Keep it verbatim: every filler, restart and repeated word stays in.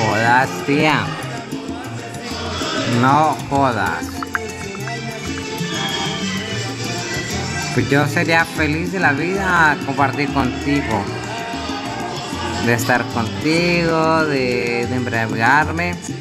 jodas, tía. No jodas. Pues yo sería feliz de la vida compartir contigo. De estar contigo, de, de embriagarme